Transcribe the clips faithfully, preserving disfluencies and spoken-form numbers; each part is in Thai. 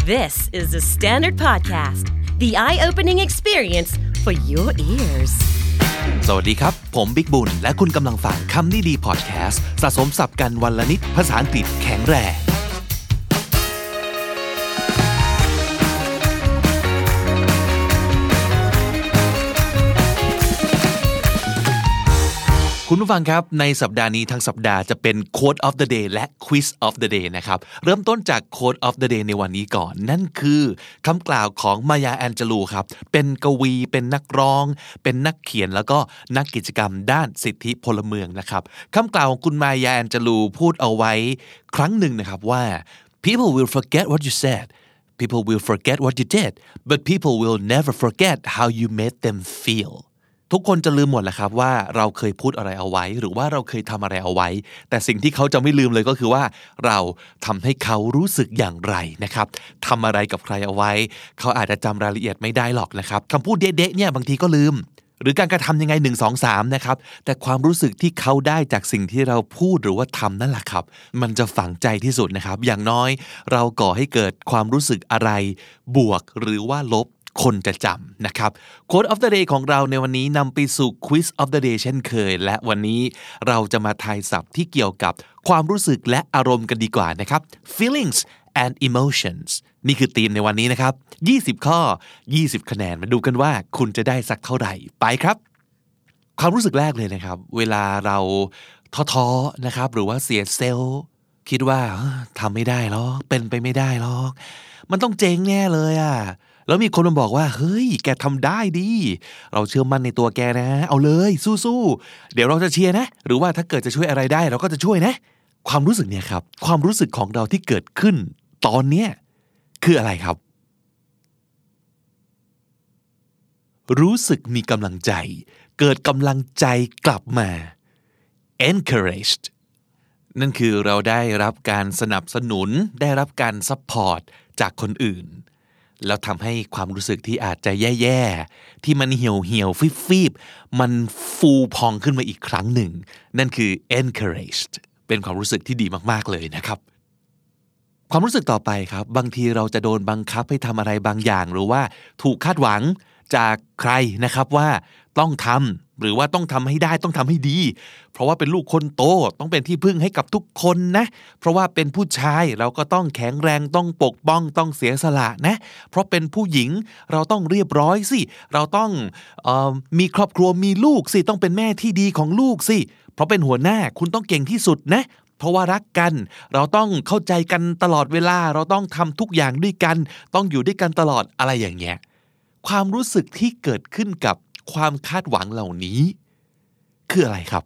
This is the Standard Podcast, the eye-opening experience for your ears. สวัสดีครับผมบิ๊กบุญและคุณกำลังฟังคำนี้ดีพอดแคสต์สะสมศัพท์กันวันละนิดภาษาอังกฤษแข็งแรงคุณผู้ฟังครับในสัปดาห์นี้ทั้งสัปดาห์จะเป็น Quote of the Day และ Quiz of the Day นะครับเริ่มต้นจาก Quote of the Day ในวันนี้ก่อนนั่นคือคำกล่าวของมายาแอนเจลูครับเป็นกวีเป็นนักร้องเป็นนักเขียนแล้วก็นักกิจกรรมด้านสิทธิพลเมืองนะครับคำกล่าวของคุณมายาแอนเจลูพูดเอาไว้ครั้งหนึ่งนะครับว่า People will forget what you said People will forget what you did but people will never forget how you made them feelทุกคนจะลืมหมดแหละครับว่าเราเคยพูดอะไรเอาไว้หรือว่าเราเคยทำอะไรเอาไว้แต่สิ่งที่เขาจะไม่ลืมเลยก็คือว่าเราทำให้เขารู้สึกอย่างไรนะครับทำอะไรกับใครเอาไว้เขาอาจจะจำรายละเอียดไม่ได้หรอกนะครับคำพูดเด๊ะๆเนี่ยบางทีก็ลืมหรือการกระทำยังไงหนึ่ง สอง สามนะครับแต่ความรู้สึกที่เขาได้จากสิ่งที่เราพูดหรือว่าทำนั่นแหละครับมันจะฝังใจที่สุดนะครับอย่างน้อยเราก่อให้เกิดความรู้สึกอะไรบวกหรือว่าลบคนจะจำนะครับ Quote of the Day ของเราในวันนี้นำไปสู่ Quiz of the Day เช่นเคยและวันนี้เราจะมาทายศัพท์ที่เกี่ยวกับความรู้สึกและอารมณ์กันดีกว่านะครับ Feelings and emotions นี่คือธีมในวันนี้นะครับยี่สิบข้อยี่สิบคะแนนมาดูกันว่าคุณจะได้สักเท่าไหร่ไปครับความรู้สึกแรกเลยนะครับเวลาเราท้อๆนะครับหรือว่าเสียเซลล์คิดว่าทำไม่ได้หรอกเป็นไปไม่ได้หรอกมันต้องเจ๊งแน่เลยอ่ะแล้วมีคนมาบอกว่าเฮ้ยแกทำได้ดิเราเชื่อมั่นในตัวแกนะเอาเลยสู้ๆเดี๋ยวเราจะเชียร์นะหรือว่าถ้าเกิดจะช่วยอะไรได้เราก็จะช่วยนะความรู้สึกเนี่ยครับความรู้สึกของเราที่เกิดขึ้นตอนเนี้ยคืออะไรครับรู้สึกมีกำลังใจเกิดกำลังใจกลับมา encouraged นั่นคือเราได้รับการสนับสนุนได้รับการซัพพอร์ตจากคนอื่นแล้วทำให้ความรู้สึกที่อาจจะแย่ๆที่มันเหี่ยวเหี่ยวฟีบๆมันฟูพองขึ้นมาอีกครั้งหนึ่งนั่นคือ encouraged เป็นความรู้สึกที่ดีมากๆเลยนะครับความรู้สึกต่อไปครับบางทีเราจะโดนบังคับให้ทำอะไรบางอย่างหรือว่าถูกคาดหวังจากใครนะครับว่าต้องทำหรือว่าต้องทำให้ได้ต้องทำให้ดีเพราะว่าเป็นลูกคนโตต้องเป็นที่พึ่งให้กับทุกคนนะเพราะว่าเป็นผู้ชายเราก็ต้องแข็งแรงต้องปกป้องต้องเสียสละนะเพราะเป็นผู้หญิงเราต้องเรียบร้อยสิเราต้องเอ่อมีครอบครัวมีลูกสิต้องเป็นแม่ที่ดีของลูกสิเพราะเป็นหัวหน้าคุณต้องเก่งที่สุดนะเพราะว่ารักกันเราต้องเข้าใจกันตลอดเวลาเราต้องทำทุกอย่างด้วยกันต้องอยู่ด้วยกันตลอดอะไรอย่างเงี้ยความรู้สึกที่เกิดขึ้นกับความคาดหวังเหล่านี้คืออะไรครับ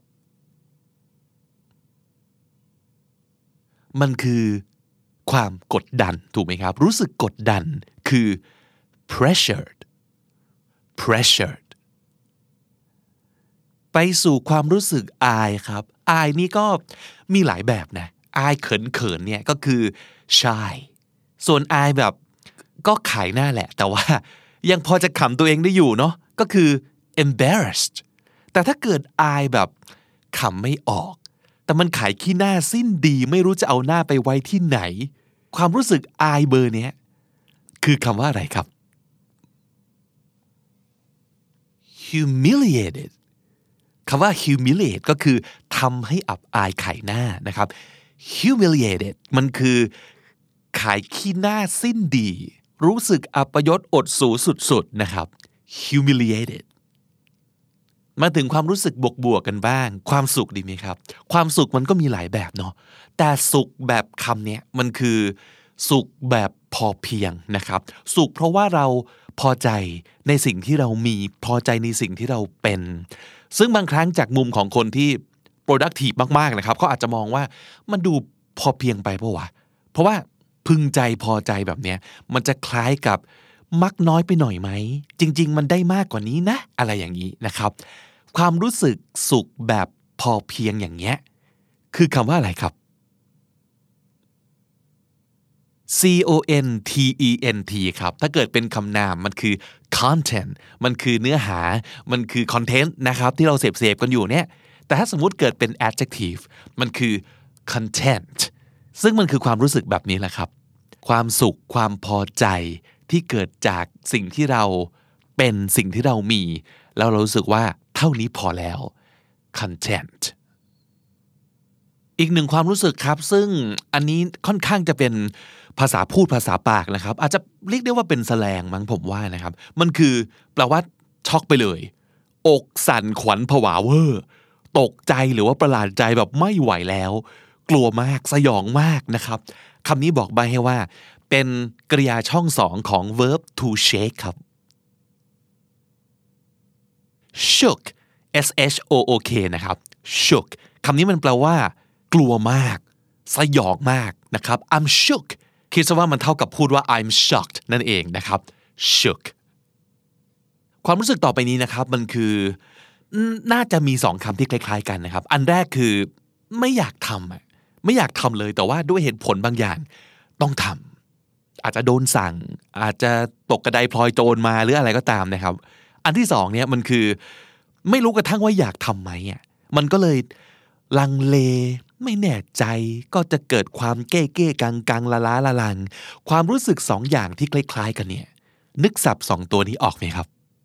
มันคือความกดดันถูกไหมครับรู้สึกกดดันคือ pressured pressured ไปสู่ความรู้สึกอายครับอายนี่ก็มีหลายแบบนะอายเขินๆเนี่ยก็คือ shy ส่วนอายแบบก็ขายหน้าแหละแต่ว่ายังพอจะขำตัวเองได้อยู่เนาะก็คือ embarrassed แต่ถ้าเกิดอายแบบขำไม่ออกแต่มันขายขี้หน้าสิ้นดีไม่รู้จะเอาหน้าไปไว้ที่ไหนความรู้สึกอายเบอร์เนี้ยคือคำว่าอะไรครับ humiliated คำว่า humiliate ก็คือทำให้อับอายขายหน้านะครับ humiliated มันคือขายขี้หน้าสิ้นดีรู้สึกอัปยศอดสูสุดๆนะครับ humiliated มาถึงความรู้สึกบวกๆกันบ้างความสุขดีไหมครับความสุขมันก็มีหลายแบบเนาะแต่สุขแบบคำนี้มันคือสุขแบบพอเพียงนะครับสุขเพราะว่าเราพอใจในสิ่งที่เรามีพอใจในสิ่งที่เราเป็นซึ่งบางครั้งจากมุมของคนที่ productive มากๆนะครับเขาอาจจะมองว่ามันดูพอเพียงไปเพราะว่าเพราะว่าพึงใจพอใจแบบเนี้ยมันจะคล้ายกับมักน้อยไปหน่อยไหมจริงๆมันได้มากกว่านี้นะอะไรอย่างนี้นะครับความรู้สึกสุขแบบพอเพียงอย่างเงี้ยคือคำว่าอะไรครับ C O N T E N T ครับถ้าเกิดเป็นคำนามมันคือ content มันคือเนื้อหามันคือ content นะครับที่เราเสพๆกันอยู่เนี่ยแต่ถ้าสมมุติเกิดเป็น adjective มันคือ content ซึ่งมันคือความรู้สึกแบบนี้แหละครับความสุขความพอใจที่เกิดจากสิ่งที่เราเป็นสิ่งที่เรามีแล้วเรารู้สึกว่าเท่านี้พอแล้ว content อีกหนึ่งความรู้สึกครับซึ่งอันนี้ค่อนข้างจะเป็นภาษาพูดภาษาปากนะครับอาจจะเรียกได้ว่าเป็นแสแลงมั้งผมว่านะครับมันคือแปลว่าช็อกไปเลยอกสั่นขวัญผวาเวอร์ตกใจหรือว่าประหลาดใจแบบไม่ไหวแล้วกลัวมากสยองมากนะครับคำนี้บอกใบ้ให้ว่าเป็นกริยาช่องสองของ verb to shake ครับ shook s h o o k นะครับ shook คำนี้มันแปลว่ากลัวมากสยองมากนะครับ I'm shook คิดซะว่ามันเท่ากับพูดว่า I'm shocked นั่นเองนะครับ shook ความรู้สึกต่อไปนี้นะครับมันคือน่าจะมีสองคำที่คล้ายๆกันนะครับอันแรกคือไม่อยากทำอ่ะไม่อยากทำเลยแต่ว่าด้วยเหตุผลบางอย่างต้องทำอาจจะโดนสั่งอาจจะตกกระไดพลอยโจรมาหรืออะไรก็ตามนะครับอันที่สองเนี่ยมันคือไม่รู้กระทั่งว่าอยากทำไหมอ่ะมันก็เลยลังเลไม่แน่ใจก็จะเกิดความเก้เก้กังกังละล้าละลังความรู้สึกสองอย่างที่คล้ายๆกันเนี่ยนึกศัพท์สองตัวนี้ออกไหมครับ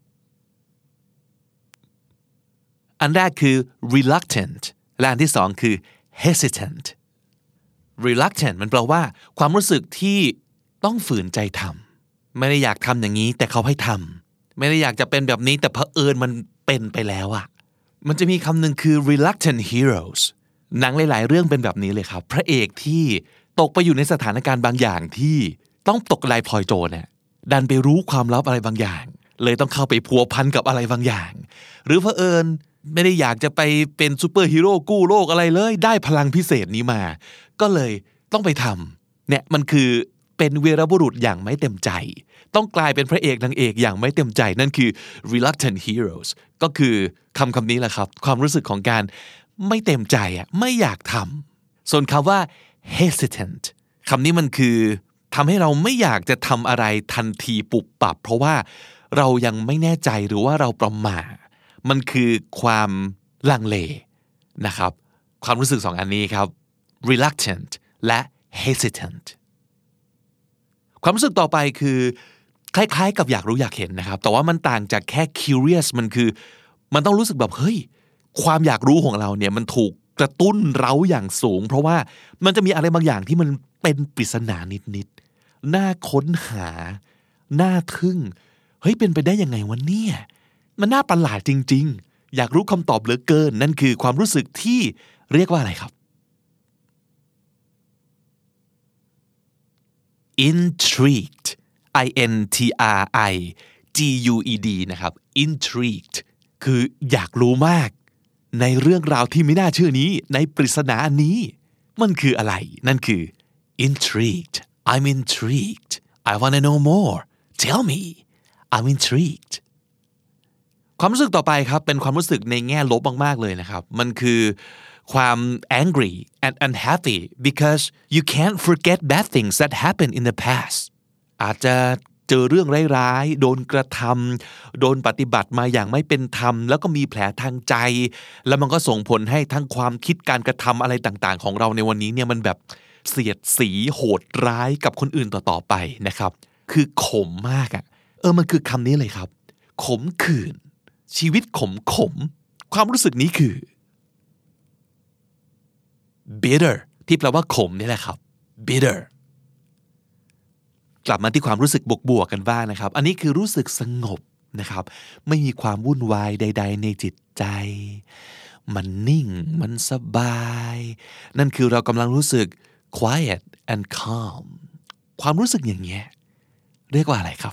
อันแรกคือ reluctant และอันที่สองคือ hesitant reluctant มันแปลว่าความรู้สึกที่ต้องฝืนใจทำไม่ได้อยากทำอย่างนี้แต่เขาให้ทำไม่ได้อยากจะเป็นแบบนี้แต่เผอิญมันเป็นไปแล้วอะมันจะมีคำหนึ่งคือ reluctant heroes หนังหลายๆเรื่องเป็นแบบนี้เลยครับพระเอกที่ตกไปอยู่ในสถานการณ์บางอย่างที่ต้องตกกระไดพลอยโจรเนี่ยดันไปรู้ความลับอะไรบางอย่างเลยต้องเข้าไปพัวพันกับอะไรบางอย่างหรือเผอิญไม่ได้อยากจะไปเป็นซูเปอร์ฮีโร่กู้โลกอะไรเลยได้พลังพิเศษนี้มาก็เลยต้องไปทำเนี่ยมันคือเป็นวีรบุรุษอย่างไม่เต็มใจต้องกลายเป็นพระเอกนางเอกอย่างไม่เต็มใจนั่นคือ reluctant heroes ก็คือคำคำนี้แหละครับความรู้สึกของการไม่เต็มใจอ่ะไม่อยากทำส่วนคำว่า hesitant คำนี้มันคือทำให้เราไม่อยากจะทำอะไรทันทีปุบปับเพราะว่าเรายังไม่แน่ใจหรือว่าเราประหม่ามันคือความลังเลนะครับความรู้สึกสองอันนี้ครับ reluctant และ hesitant ความรู้สึกต่อไปคือคล้ายๆกับอยากรู้อยากเห็นนะครับแต่ว่ามันต่างจากแค่ curious มันคือมันต้องรู้สึกแบบเฮ้ยความอยากรู้ของเราเนี่ยมันถูกกระตุ้นเร้าอย่างสูงเพราะว่ามันจะมีอะไรบางอย่างที่มันเป็นปริศนานิดๆน่าค้นหาน่าทึ่งเฮ้ยเป็นไปได้ยังไงวะเนี่ยมันน่าประหลาดจริงๆอยากรู้คำตอบเหลือเกินนั่นคือความรู้สึกที่เรียกว่าอะไรครับ intrigued i n t r i g u e d นะครับ intrigued คืออยากรู้มากในเรื่องราวที่ไม่น่าเชื่อนี้ในปริศนาอันนี้มันคืออะไรนั่นคือ intrigued I'm intrigued I wanna know more tell me I'm intrigued ความรู้สึกต่อไปครับเป็นความรู้สึกในแง่ลบมากๆเลยนะครับมันคือความ angry and unhappy because you can't forget bad things that happened in the past อาจจะเจอเรื่องร้ายๆโดนกระทำโดนปฏิบัติมาอย่างไม่เป็นธรรมแล้วก็มีแผลทางใจแล้วมันก็ส่งผลให้ทั้งความคิดการกระทำอะไรต่างๆของเราในวันนี้เนี่ยมันแบบเสียดสีโหดร้ายกับคนอื่นต่อๆไปนะครับคือขมมากอ่ะเออมันคือคำนี้เลยครับขมขื่นชีวิตขมขมความรู้สึกนี้คือ bitter ที่แปลว่าขมนี่แหละครับ bitter กลับมาที่ความรู้สึกบวกๆกันบ้างนะครับอันนี้คือรู้สึกสงบนะครับไม่มีความวุ่นวายใดๆในจิตใจมันนิ่งมันสบายนั่นคือเรากำลังรู้สึก quiet and calm ความรู้สึกอย่างเงี้ยเรียกว่าอะไรครับ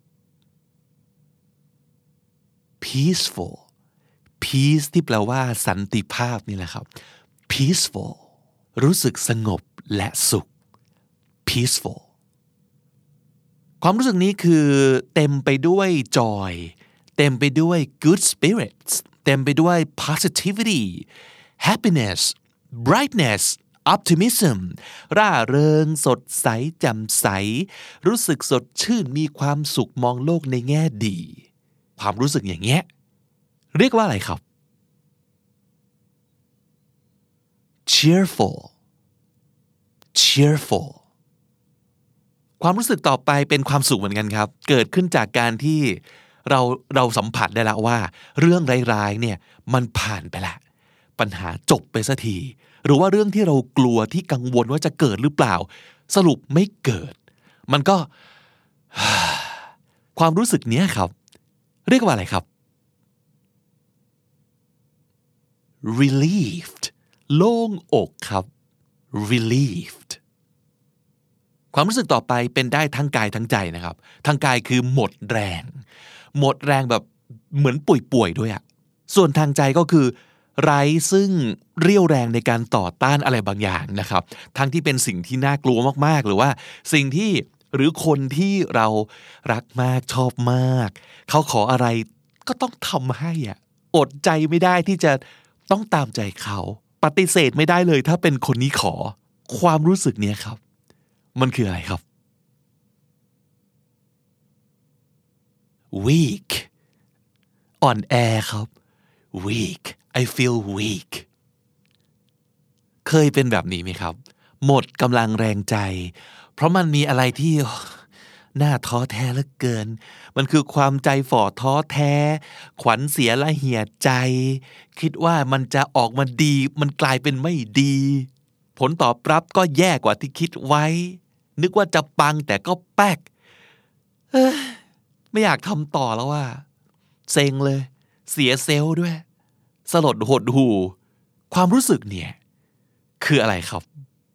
peaceful peace ที่แปลว่าสันติภาพนี่แหละครับ peaceful รู้สึกสงบและสุข peacefulความรู้สึกนี้คือเต็มไปด้วย joy เต็มไปด้วย good spirits เต็มไปด้วย positivity happiness brightness optimism ร่าเริงสดใสแจ่มใสรู้สึกสดชื่นมีความสุขมองโลกในแง่ดีความรู้สึกอย่างเงี้ยเรียกว่าอะไรครับ cheerful cheerful ความรู้สึกต่อไปเป็นความสุขเหมือนกันครับเกิดขึ้นจากการที่เราเราสัมผัสได้แล้วว่าเรื่องร้ายๆเนี่ยมันผ่านไปแล้วปัญหาจบไปสักทีหรือว่าเรื่องที่เรากลัวที่กังวลว่าจะเกิดหรือเปล่าสรุปไม่เกิดมันก็ ความรู้สึกเนี้ยครับเรียกว่าอะไรครับ relieved โล่งอกครับ relieved ความรู้สึกต่อไปเป็นได้ทั้งกายทั้งใจนะครับทั้งกายคือหมดแรงหมดแรงแบบเหมือนป่วยๆด้วยอะส่วนทางใจก็คือไร้ซึ่งเรี่ยวแรงในการต่อต้านอะไรบางอย่างนะครับทั้งที่เป็นสิ่งที่น่ากลัวมากๆหรือว่าสิ่งที่หรือคนที่เรารักมากชอบมากเขาขออะไรก็ต้องทำให้อ่ะอดใจไม่ได้ที่จะต้องตามใจเขาปฏิเสธไม่ได้เลยถ้าเป็นคนนี้ขอความรู้สึกเนี้ยครับมันคืออะไรครับ weak อ่อนแอครับ weak I feel weak เคยเป็นแบบนี้ไหมครับหมดกำลังแรงใจเพราะมันมีอะไรที่น่าท้อแท้เหลือเกินมันคือความใจฝ่อท้อแท้ขวัญเสียละเหี่ยใจคิดว่ามันจะออกมาดีมันกลายเป็นไม่ดีผลตอบรับก็แย่กว่าที่คิดไว้นึกว่าจะปังแต่ก็แป๊กเอ้ยไม่อยากทำต่อแล้วว่าเซ็งเลยเสียเซลล์ด้วยสลดหดหู่ความรู้สึกเนี่ยคืออะไรครับ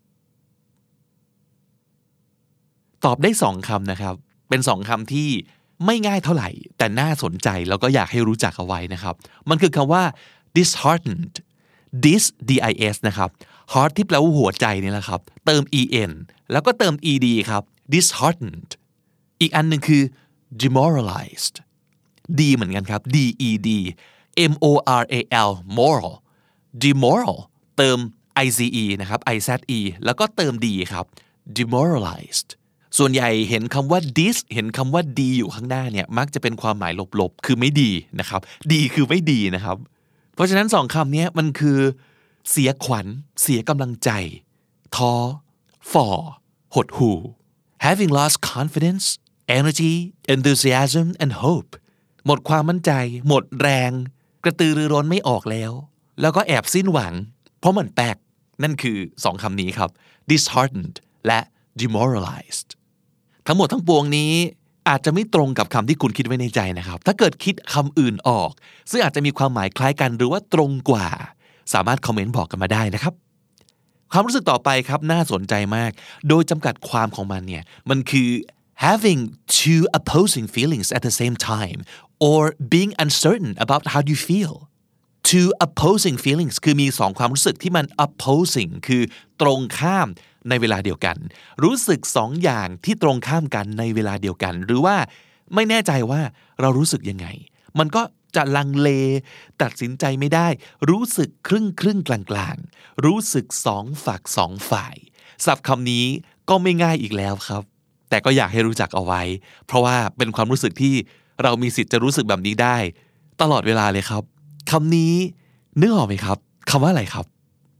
ตอบได้สองคำนะครับเป็นสองคำที่ไม่ง่ายเท่าไหร่แต่น่าสนใจแล้วก็อยากให้รู้จักเอาไว้นะครับมันคือคำว่า disheartened dis d i s นะครับ heart ที่แปลว่าหัวใจนี่แหละครับเติม en แล้วก็เติม ed ครับ disheartened อีกอันหนึ่งคือ demoralized d เหมือนกันครับ d e d m o r a l moral demoral เติม ice นะครับ ize แล้วก็เติม d ครับ demoralized ส่วนใหญ่เห็นคำว่า dis เห็นคำว่าดีอยู่ข้างหน้าเนี่ยมักจะเป็นความหมายลบๆคือไม่ดีนะครับดีคือไม่ดีนะครับเพราะฉะนั้นสองคำนี้มันคือเสียขวัญเสียกำลังใจท้อฝ่อหดหู่ having lost confidence energy enthusiasm and hope หมดความมั่นใจหมดแรงกระตือรือร้นไม่ออกแล้วแล้วก็แอบสิ้นหวังเพราะมันแปลกนั่นคือสองคำนี้ครับ disheartened และ demoralized ทั้งหมดทั้งปวงนี้อาจจะไม่ตรงกับคำที่คุณคิดไว้ในใจนะครับถ้าเกิดคิดคำอื่นออกซึ่งอาจจะมีความหมายคล้ายกันหรือว่าตรงกว่าสามารถคอมเมนต์บอกกันมาได้นะครับความรู้สึกต่อไปครับน่าสนใจมากโดยจำกัดความของมันเนี่ยมันคือ having two opposing feelings at the same time or being uncertain about how you feel two opposing feelings คือมีสองความรู้สึกที่มัน opposing คือตรงข้ามในเวลาเดียวกันรู้สึกสองอย่างที่ตรงข้ามกันในเวลาเดียวกันหรือว่าไม่แน่ใจว่าเรารู้สึกยังไงมันก็จะลังเลตัดสินใจไม่ได้รู้สึกครึ่งครึ่งกลางกลางรู้สึกสองฝักสองฝ่ายศัพท์คำนี้ก็ไม่ง่ายอีกแล้วครับแต่ก็อยากให้รู้จักเอาไว้เพราะว่าเป็นความรู้สึกที่เรามีสิทธิ์จะรู้สึกแบบนี้ได้ตลอดเวลาเลยครับคำนี้นึกออกไหมครับคำว่าอะไรครับ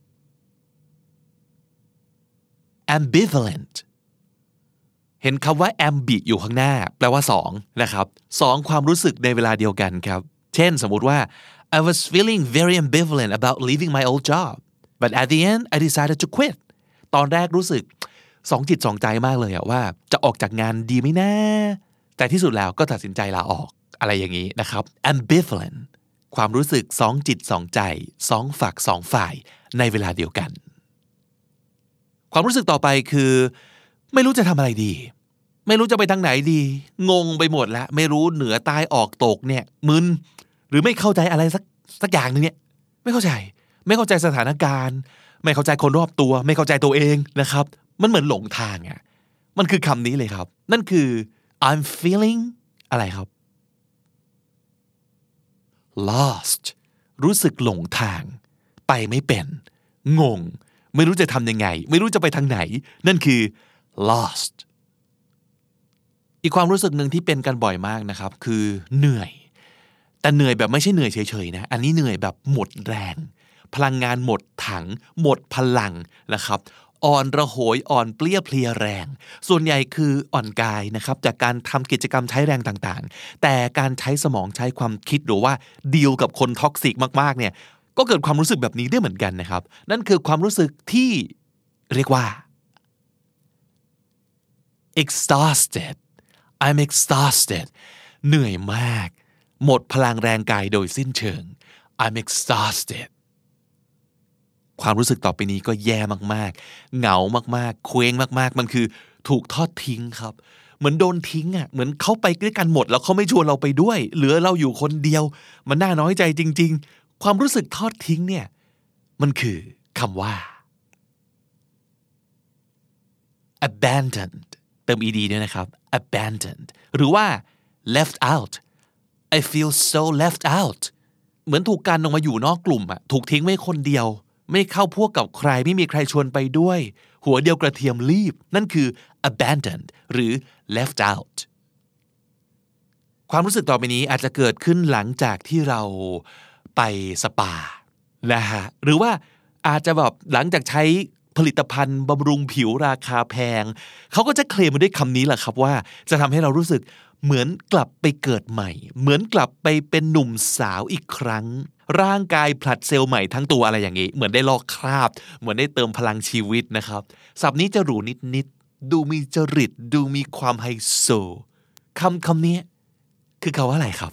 ambivalent เห็นคำว่า ambi อยู่ข้างหน้าแปลว่าสองนะครับสองความรู้สึกในเวลาเดียวกันครับเช่นสมมุติว่า I was feeling very ambivalent about leaving my old job but at the end I decided to quit ตอนแรกรู้สึกสองจิตสองใจมากเลยอะว่าจะออกจากงานดีไหมนะแต่ที่สุดแล้วก็ตัดสินใจลาออกอะไรอย่างนี้นะครับ ambivalent ความรู้สึกสองจิตสองใจสองฝักสองฝ่ายในเวลาเดียวกันความรู้สึกต่อไปคือไม่รู้จะทำอะไรดีไม่รู้จะไปทางไหนดีงงไปหมดแล้วไม่รู้เหนือใต้ออกตกเนี่ยมึนหรือไม่เข้าใจอะไรสักสักอย่างนึงเนี่ยไม่เข้าใจไม่เข้าใจสถานการณ์ไม่เข้าใจคนรอบตัวไม่เข้าใจตัวเองนะครับมันเหมือนหลงทางอ่ะมันคือคำนี้เลยครับนั่นคือ I'm feeling อะไรครับ lost รู้สึกหลงทางไปไม่เป็นงงไม่รู้จะทำยังไงไม่รู้จะไปทางไหนนั่นคือ lost อีกความรู้สึกหนึ่งที่เป็นกันบ่อยมากนะครับคือเหนื่อยแต่เหนื่อยแบบไม่ใช่เหนื่อยเฉยๆนะอันนี้เหนื่อยแบบหมดแรงพลังงานหมดถังหมดพลังนะครับอ่อนระโหยอ่อนเปลี้ยเพลียแรงส่วนใหญ่คืออ่อนกายนะครับจากการทำกิจกรรมใช้แรงต่างๆแต่การใช้สมองใช้ความคิดหรือว่าดีลกับคนท็อกซิกมากๆเนี่ยก็เกิดความรู้สึกแบบนี้ได้เหมือนกันนะครับนั่นคือความรู้สึกที่เรียกว่า exhausted I'm exhausted เหนื่อยมากหมดพลังแรงกายโดยสิ้นเชิง I'm exhausted ความรู้สึกต่อไปนี้ก็แย่มากๆเหงามากๆเคว้งมากๆมันคือถูกทอดทิ้งครับเหมือนโดนทิ้งอ่ะเหมือนเขาไปด้วยกันหมดแล้วเขาไม่ชวนเราไปด้วยเหลือเราอยู่คนเดียวมันน่าน้อยใจจริงๆความรู้สึกทอดทิ้งเนี่ยมันคือคำว่า abandoned เติม ed ด้วยนะครับ abandoned หรือว่า left out I feel so left out เหมือนถูกกันออกมาอยู่นอกกลุ่มอะถูกทิ้งไว้คนเดียวไม่เข้าพวกกับใครไม่มีใครชวนไปด้วยหัวเดียวกระเทียมรีบนั่นคือ abandoned หรือ left out ความรู้สึกต่อไปนี้อาจจะเกิดขึ้นหลังจากที่เราไปสปานะฮะหรือว่าอาจจะแบบหลังจากใช้ผลิตภัณฑ์บำรุงผิวราคาแพงเขาก็จะเคลมมาด้วยคำนี้แหละครับว่าจะทำให้เรารู้สึกเหมือนกลับไปเกิดใหม่เหมือนกลับไปเป็นหนุ่มสาวอีกครั้งร่างกายผลัดเซลล์ใหม่ทั้งตัวอะไรอย่างนี้เหมือนได้ลอกคราบเหมือนได้เติมพลังชีวิตนะครับศัพท์นี้จะหรูนิดๆดูมีจริตดูมีความไฮโซคำคำนี้คือคำว่าอะไรครับ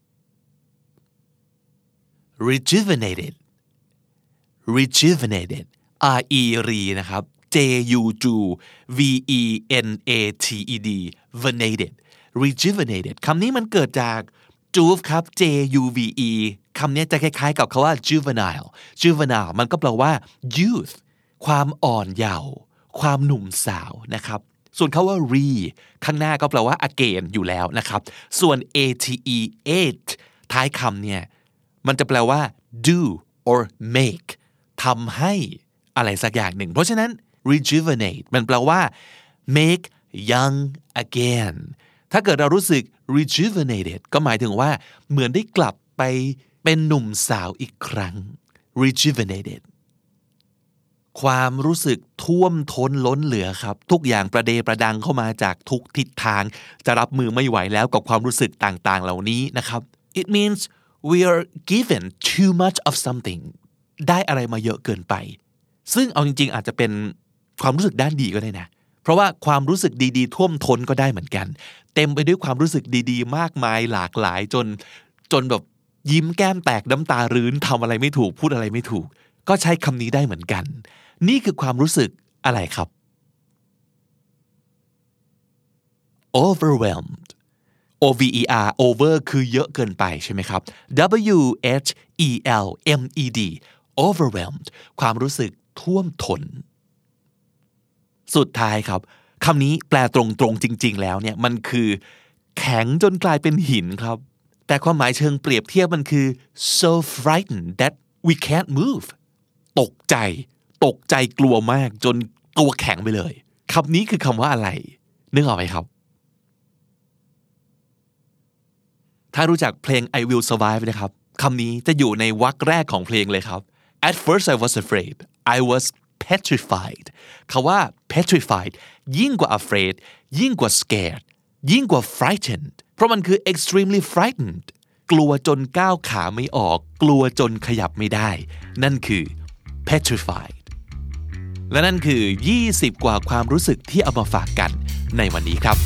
rejuvenated rejuvenated r e รีนะครับ j u v e n a t e d venated rejuvenated คำนี้มันเกิดจาก juve ครับ j u v e คำนี้จะคล้ายๆกับคำว่า juvenile juvenile มันก็แปลว่า youth ความอ่อนเยาว์ความหนุ่มสาวนะครับส่วนคำว่า re ข้างหน้าก็แปลว่า again อยู่แล้วนะครับส่วน ate ate ท้ายคำเนี่ยมันจะแปลว่า do or make ทำให้อะไรสักอย่างหนึ่งเพราะฉะนั้น rejuvenate มันแปลว่า make young again ถ้าเกิดเรารู้สึก rejuvenated ก็หมายถึงว่าเหมือนได้กลับไปเป็นหนุ่มสาวอีกครั้ง rejuvenated ความรู้สึกท่วมท้นล้นเหลือครับทุกอย่างประเดประดังเข้ามาจากทุกทิศทางจะรับมือไม่ไหวแล้วกับความรู้สึกต่างๆเหล่านี้นะครับ it means we are given too much of something ได้อะไรมาเยอะเกินไปซึ่งเอาจริงๆอาจจะเป็นความรู้สึกด้านดีก็ได้นะเพราะว่าความรู้สึกดีๆท่วมท้นก็ได้เหมือนกันเต็มไปด้วยความรู้สึกดีๆมากมายหลากหลายจนจนแบบยิ้มแก้มแตกน้ำตารื้นทำอะไรไม่ถูกพูดอะไรไม่ถูกก็ใช้คำนี้ได้เหมือนกันนี่คือความรู้สึกอะไรครับ overwhelmed o v e r over คือเยอะเกินไปใช่ไหมครับ w h e l m e d overwhelmed ความรู้สึกท่วมท้นสุดท้ายครับคำนี้แปลตรงๆจริงๆแล้วเนี่ยมันคือแข็งจนกลายเป็นหินครับแต่ความหมายเชิงเปรียบเทียบมันคือ so frightened that we can't move ตกใจตกใจกลัวมากจนตัวแข็งไปเลยคำนี้คือคำว่าอะไรนึกออกไหมครับถ้ารู้จักเพลง I Will Survive นะครับคำนี้จะอยู่ในวรรคแรกของเพลงเลยครับ At first I was afraid I was petrified คำว่า petrified ยิ่งกว่า afraid ยิ่งกว่า scared ยิ่งกว่า frightened เพราะมันคือ extremely frightened กลัวจนก้าวขาไม่ออกกลัวจนขยับไม่ได้นั่นคือ petrified และนั่นคือยี่สิบกว่าความรู้สึกที่เอามาฝากกันในวันนี้ครับ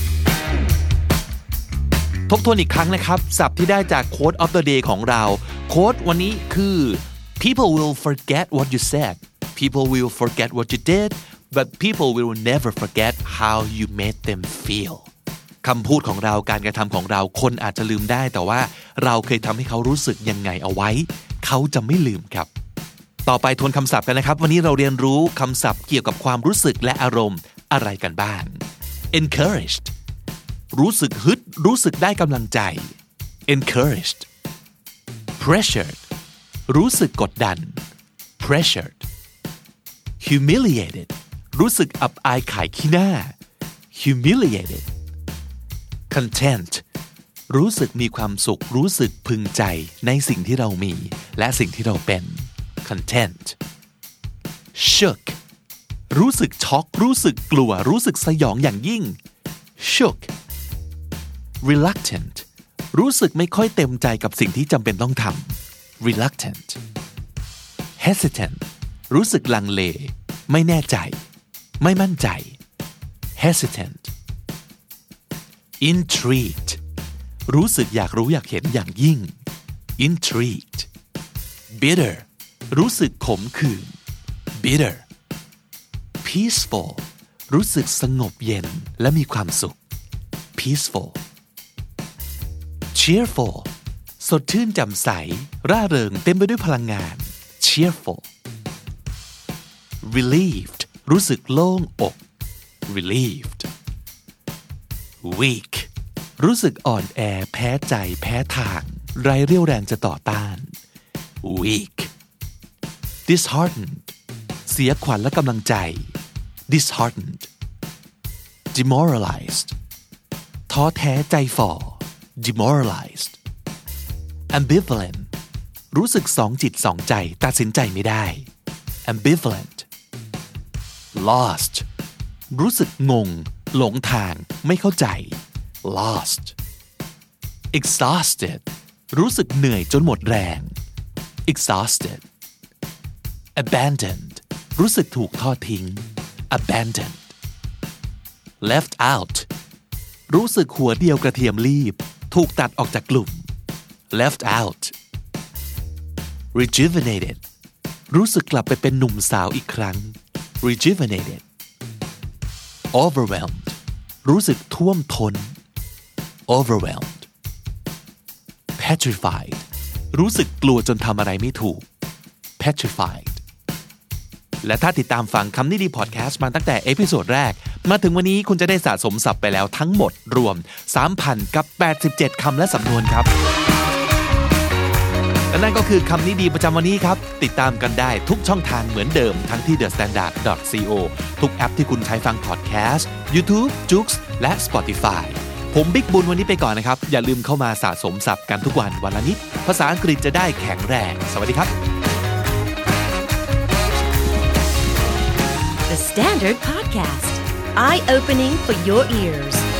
ทบทวนอีกครั้งนะครับศัพท์ที่ได้จาก Quote of the Day ของเราโค้ดวันนี้คือ people will forget what you said people will forget what you did but people will never forget how you made them feel คำพูดของเราการกระทำของเราคนอาจจะลืมได้แต่ว่าเราเคยทำให้เขารู้สึกยังไงเอาไว้เขาจะไม่ลืมครับต่อไปทวนคำศัพท์กันนะครับวันนี้เราเรียนรู้คำศัพท์เกี่ยวกับความรู้สึกและอารมณ์อะไรกันบ้าง encouragedรู้สึกฮึดรู้สึกได้กำลังใจ encouraged pressured รู้สึกกดดัน pressured humiliated รู้สึกอับอายขายขี้หน้า humiliated content รู้สึกมีความสุขรู้สึกพึงใจในสิ่งที่เรามีและสิ่งที่เราเป็น content shook รู้สึกช็อกรู้สึกกลัวรู้สึกสยองอย่างยิ่ง shook reluctant รู้สึกไม่ค่อยเต็มใจกับสิ่งที่จำเป็นต้องทำ reluctant hesitant รู้สึกลังเลไม่แน่ใจไม่มั่นใจ hesitant intrigued รู้สึกอยากรู้อยากเห็นอย่างยิ่ง intrigued bitter รู้สึกขมขื่น bitter peaceful รู้สึกสงบเย็นและมีความสุข peaceful cheerful สดชื่นแจ่มใสร่าเริงเต็มไปด้วยพลังงาน cheerful relieved รู้สึกโล่งอก relieved weak รู้สึกอ่อนแอแพ้ใจแพ้ทางไร้เรี่ยวแรงจะต่อต้าน weak disheartened เสียขวัญและกำลังใจ disheartened demoralized ท้อแท้ใจฝ่อ demoralized ambivalent รู้สึกสองจิตสองใจตัดสินใจไม่ได้ ambivalent lost รู้สึกงงหลงทางไม่เข้าใจ lost exhausted รู้สึกเหนื่อยจนหมดแรง exhausted abandoned รู้สึกถูกทอดทิ้ง abandoned left out รู้สึกหัวเดียวกระเทียมรีบถูกตัดออกจากกลุ่ม left out rejuvenated รู้สึกกลับไปเป็นหนุ่มสาวอีกครั้ง rejuvenated overwhelmed รู้สึกท่วมท้น overwhelmed petrified รู้สึกกลัวจนทำอะไรไม่ถูก petrified และถ้าติดตามฟังคำนี้ดีพอดแคสต์มาตั้งแต่เอพิโซดแรกมาถึงวันนี้คุณจะได้สะสมศัพท์ไปแล้วทั้งหมดรวม สามพันแปดสิบเจ็ด คำและสำนวนครับและนั่นก็คือคำนี้ดีประจำวันนี้ครับติดตามกันได้ทุกช่องทางเหมือนเดิมทั้งที่ เดอะ สแตนดาร์ด ดอท ซี โอ ทุกแอปที่คุณใช้ฟังพอดแคสต์ YouTube, Joox และ Spotify ผมบิ๊กบุญวันนี้ไปก่อนนะครับอย่าลืมเข้ามาสะสมศัพท์กันทุกวันวันละนิดภาษาอังกฤษจะได้แข็งแรงสวัสดีครับ The Standard Podcast Eye Opening for Your Ears